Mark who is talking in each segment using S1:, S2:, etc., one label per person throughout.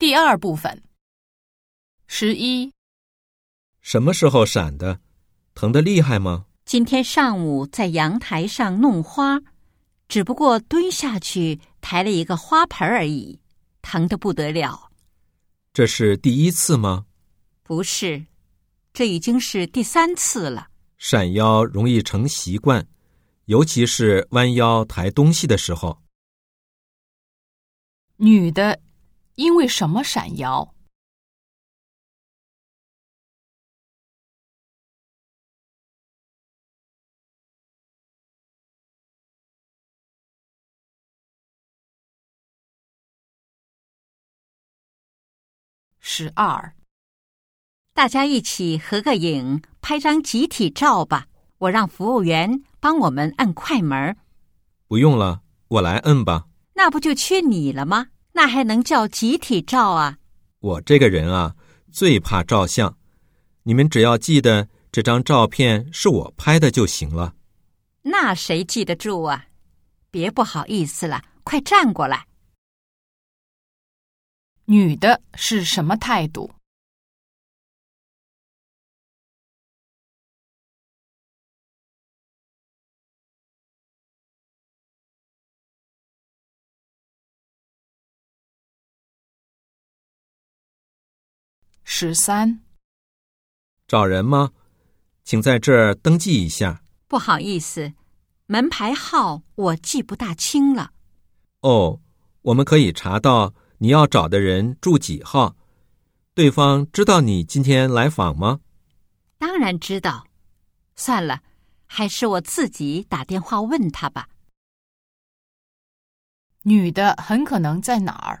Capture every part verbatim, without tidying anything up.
S1: 第二部分。十一，
S2: 什么时候闪的？疼得厉害吗？
S3: 今天上午在阳台上弄花，只不过蹲下去抬了一个花盆而已，疼得不得了。
S2: 这是第一次吗？
S3: 不是，这已经是第三次了。
S2: 闪腰容易成习惯，尤其是弯腰抬东西的时候。
S1: 女的因为什么闪腰？十二，
S3: 大家一起合个影，拍张集体照吧。我让服务员帮我们按快门。
S2: 不用了，我来摁吧。
S3: 那不就缺你了吗？那还能叫集体照啊？
S2: 我这个人啊，最怕照相。你们只要记得这张照片是我拍的就行了。
S3: 那谁记得住啊？别不好意思了，快站过来。
S1: 女的是什么态度？十三，
S2: 找人吗？请在这儿登记一下。
S3: 不好意思，门牌号我记不大清了。
S2: 哦，我们可以查到你要找的人住几号。对方知道你今天来访吗？
S3: 当然知道。算了，还是我自己打电话问他吧。
S1: 女的很可能在哪儿？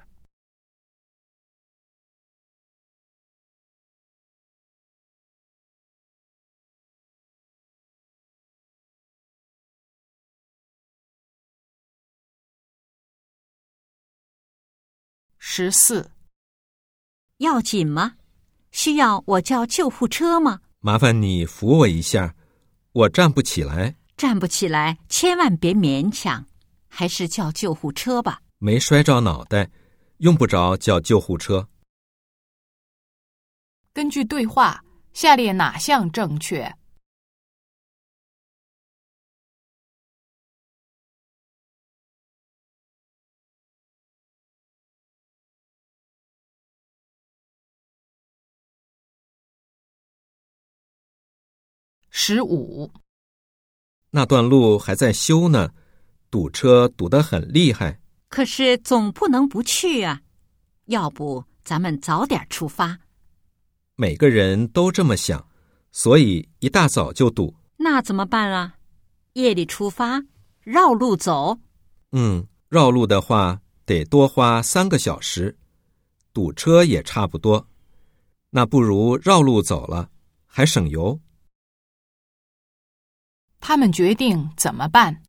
S1: 十四，
S3: 要紧吗？需要我叫救护车吗？
S2: 麻烦你扶我一下，我站不起来。
S3: 站不起来，千万别勉强，还是叫救护车吧。
S2: 没摔着脑袋，用不着叫救护车。
S1: 根据对话，下列哪项正确？十五，
S2: 那段路还在修呢，堵车堵得很厉害。
S3: 可是总不能不去啊，要不咱们早点出发。
S2: 每个人都这么想，所以一大早就堵。
S3: 那怎么办啊？夜里出发，绕路走？
S2: 嗯，绕路的话得多花三个小时，堵车也差不多。那不如绕路走了，还省油。
S1: 他们决定怎么办？